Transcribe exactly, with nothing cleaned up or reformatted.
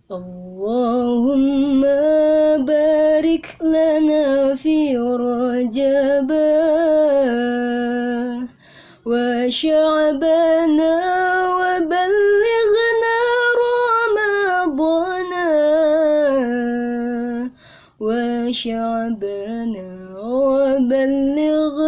اللهم بارك لنا في رجب وشعبنا وبلغنا رمضان وشعبنا وبلغنا